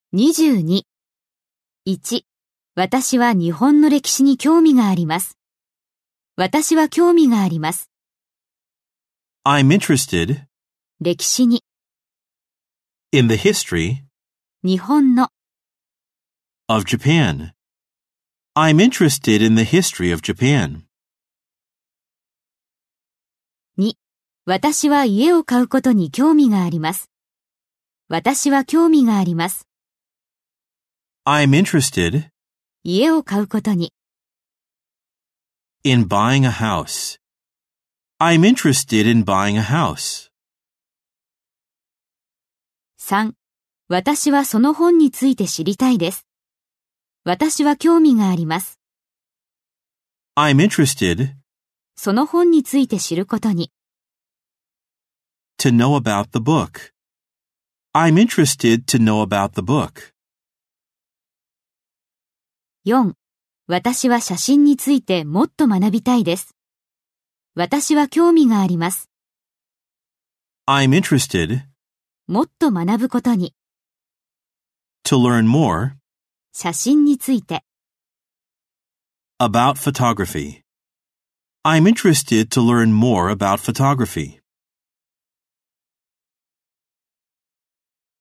22。1、私は日本の歴史に興味があります。私は興味があります。 I'm interested 歴史に、 in the history 日本の、 of Japan. I'm interested in the history of Japan. 2、私は家を買うことに興味があります。私は興味があります。 I'm interested 家を買うことに、 in buying a house. I'm interested in buying a house. 3、私はその本について知りたいです。私は興味があります。 I'm interested その本について知ることに、 to know about the book. I'm interested to know about the book. 4、私は写真についてもっと学びたいです。私は興味があります。 I'm interested もっと学ぶことに、 to learn more 写真について。 about photography. I'm interested to learn more about photography.